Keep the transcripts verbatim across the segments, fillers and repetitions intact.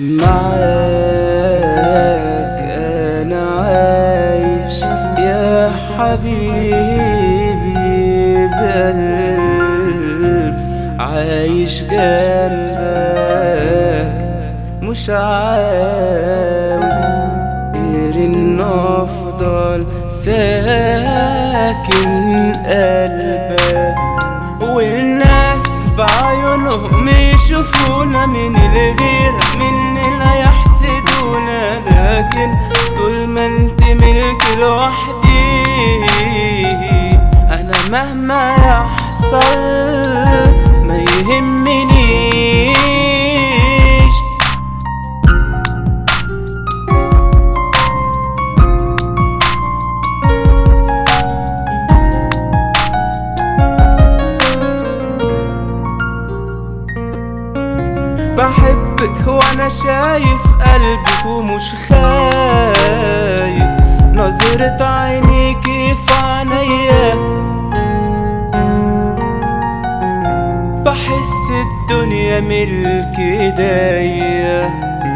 معاك أنا عايش يا حبيبي بقلب، عايش جنبك مش عاوز غير إن أفضل ساكن قلبك. والناس بعيونهم يشوفونا من الغيرة مننا يحسدونا، لكن طول ما انت ملك لوحدي انا مهما يحصل ما يهمنيش. بحبك وانا شايف قلبك ومش خايف نظرة عينيكي في عينيا، بحس الدنيا ملك ايديا.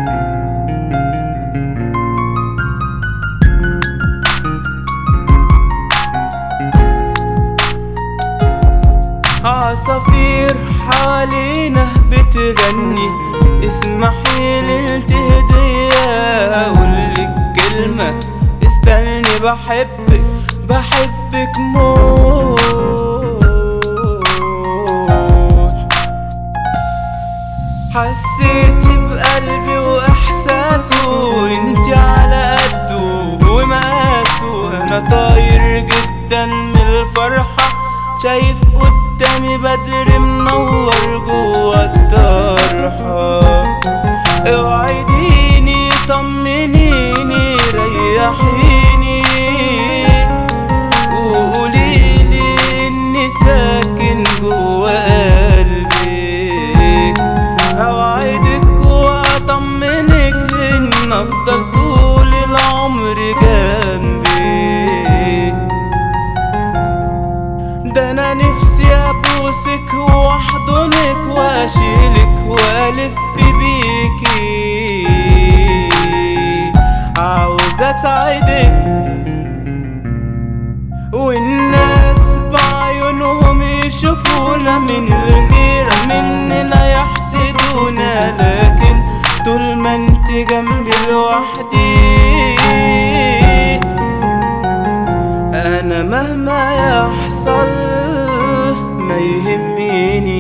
عصافير حوالينا بتغني، اسمحيلي التهدية اقولك كلمة استني، بحبك بحبك موت. حسيتي بقلبي واحساسه وانتي على قده ومقاسه، انا طاير جدا من الفرحة شايف قدامي بدر منور جوا الطرحة. اوعديني طمنيني ريحيني وقوليلي اني ساكن جوا قلبي، اوعدك واطمنك ان افضل طول العمر جنبي. ده انا نفسي ابوسك واحضنك واشيلك والف بيكي، عاوز اسعدك والناس بعيونهم يشوفونا من الغيرة مننا يحسدونا، لكن طول ما انت جنبي لوحدي انا مهما يحصل ما يهمني.